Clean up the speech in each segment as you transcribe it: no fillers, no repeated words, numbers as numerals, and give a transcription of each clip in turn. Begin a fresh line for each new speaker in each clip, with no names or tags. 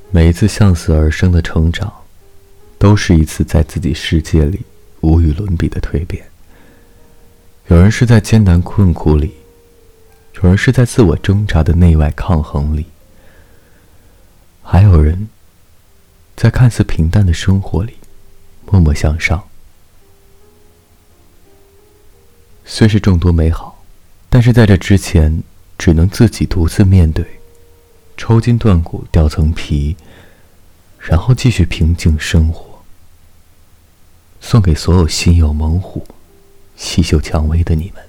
每一次向死而生的成长，都是一次在自己世界里无与伦比的蜕变。有人是在艰难困苦里，有人是在自我挣扎的内外抗衡里，还有人在看似平淡的生活里默默向上。虽是众多美好，但是在这之前只能自己独自面对，抽筋断骨掉层皮，然后继续平静生活。送给所有心有猛虎、细嗅蔷薇的你们。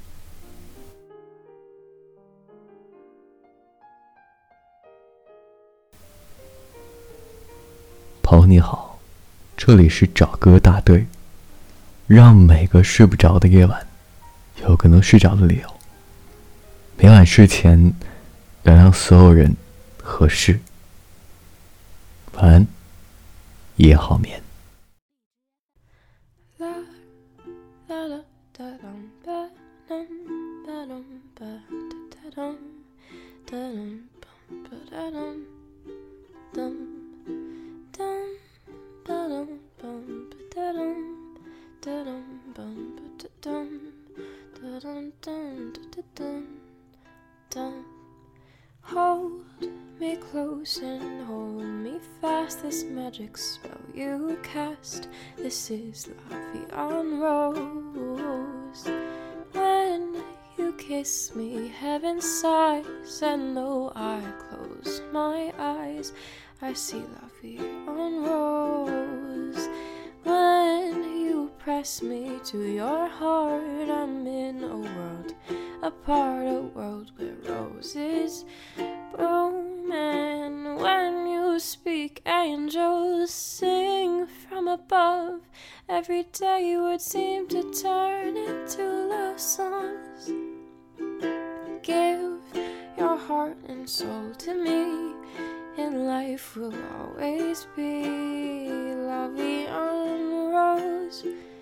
朋友你好，这里是找歌大队，让每个睡不着的夜晚有个能睡着的理由。每晚睡前原谅所有人和事。晚安，夜好眠。
Hold me close and hold me fast. This magic spell you cast. This is la vie en rose. When you kiss me, heaven sighs, and though I close my eyes, I see la vie en rose. When you press me to your heart, I'm in a world apart, a world where roses bloom. And when you speak, angels sing from above. Every day words seem to turn into love songs. Give your heart and soul to me, and life will always be la vie en rose.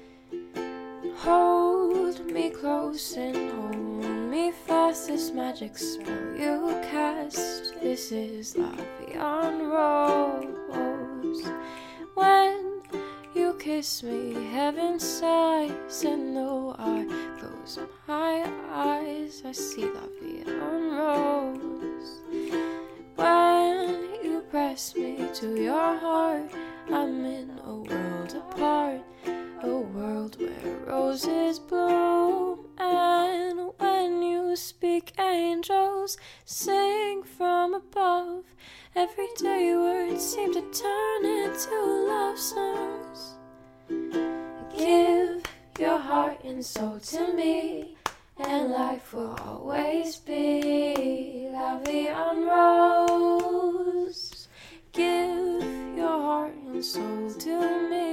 Hold me close and hold me fast. This magic spell you cast. This is la vie en rose. When you kiss me, heaven sighs, and though I close my eyes, I see la vie en rose. When you press me to your heart, I'm in a world apart, a world where roses bloom. And when you speak, angels sing from above. Every day words seem to turn into love songs. Give your heart and soul to me, and life will always be la vie en rose. Give your heart and soul to me,